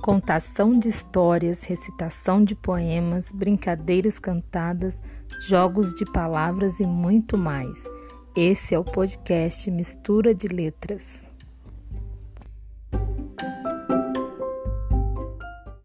contação de histórias, recitação de poemas, brincadeiras cantadas, jogos de palavras e muito mais. Esse é o podcast Mistura de Letras.